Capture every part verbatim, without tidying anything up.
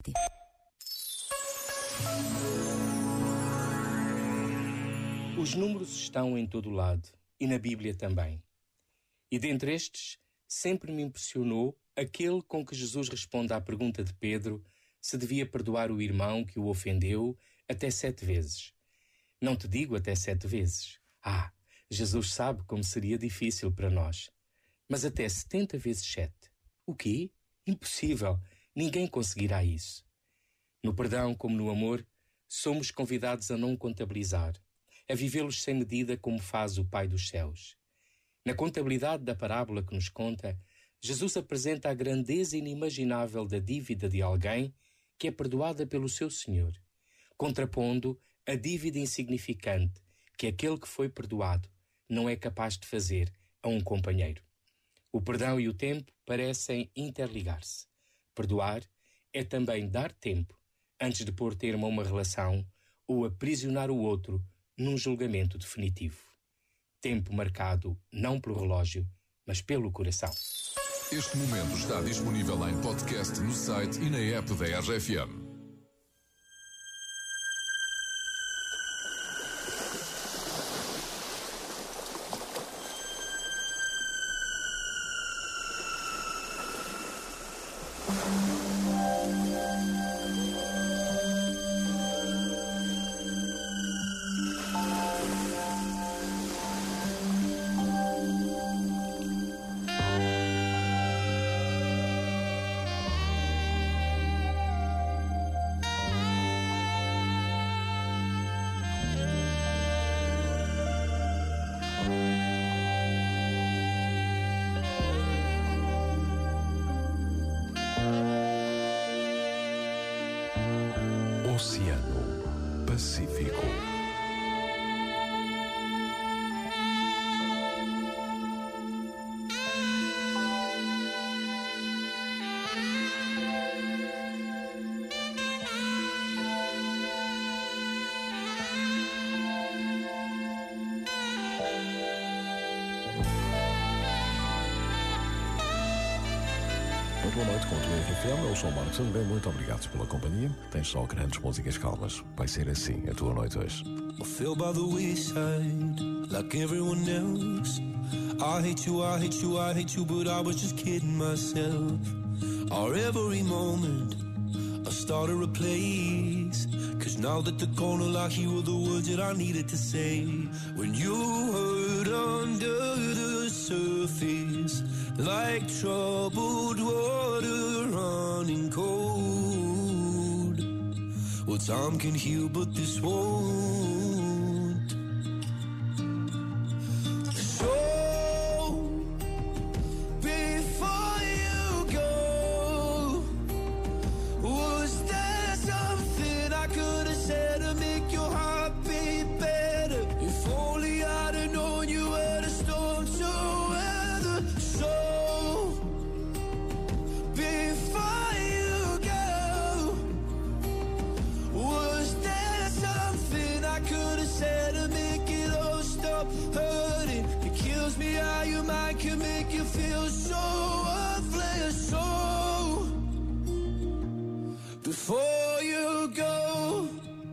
tarde. Os números estão em todo lado e na Bíblia também. E dentre estes, sempre me impressionou aquele com que Jesus responde à pergunta de Pedro se devia perdoar o irmão que o ofendeu até sete vezes. Não te digo até sete vezes. Ah, Jesus sabe como seria difícil para nós. Mas até setenta vezes sete. O quê? Impossível. Ninguém conseguirá isso. No perdão, como no amor, somos convidados a não contabilizar, a vivê-los sem medida como faz o Pai dos céus. Na contabilidade da parábola que nos conta, Jesus apresenta a grandeza inimaginável da dívida de alguém que é perdoada pelo seu Senhor, contrapondo a dívida insignificante que aquele que foi perdoado não é capaz de fazer a um companheiro. O perdão e o tempo parecem interligar-se. Perdoar é também dar tempo antes de pôr termo a uma relação ou aprisionar o outro num julgamento definitivo. Tempo marcado não pelo relógio, mas pelo coração. Este momento está disponível em podcast no site e na app da R F M. Oceano Pacífico. Boa noite com o R F M, eu sou o Marcos André, muito obrigado pela companhia. Tens só grandes músicas calmas, vai ser assim a tua noite hoje. I feel by the wayside, like everyone else. I hate you, I hate you, I hate you, but I was just kidding myself. Our every moment, I started a place. Cause now that they're gone, all I hear were the words that I needed to say. When you hurt under the surface, like troubled water running cold. Well, time can heal, but this won't. So, before you go, was there something I could have said to make your heart beat better? If only I'd have known you were the storm to weather. So, said to make it all stop hurting. It kills me how your mind can make you feel so worthless. So before you go,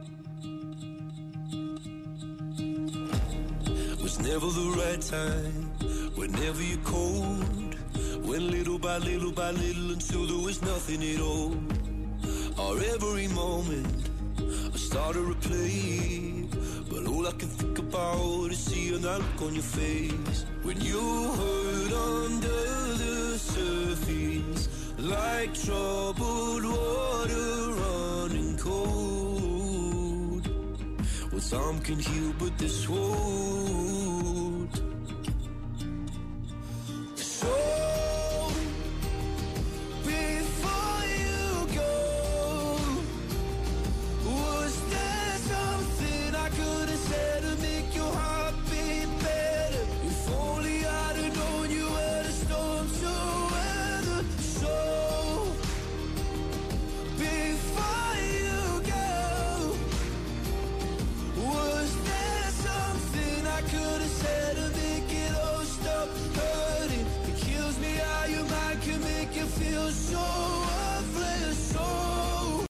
was never the right time, whenever you're cold. Went little by little by little until there was nothing at all. Or every moment I started to play, but all I can think about is seeing that look on your face. When you hurt under the surface, like troubled water running cold. Well, time can heal, but this won't.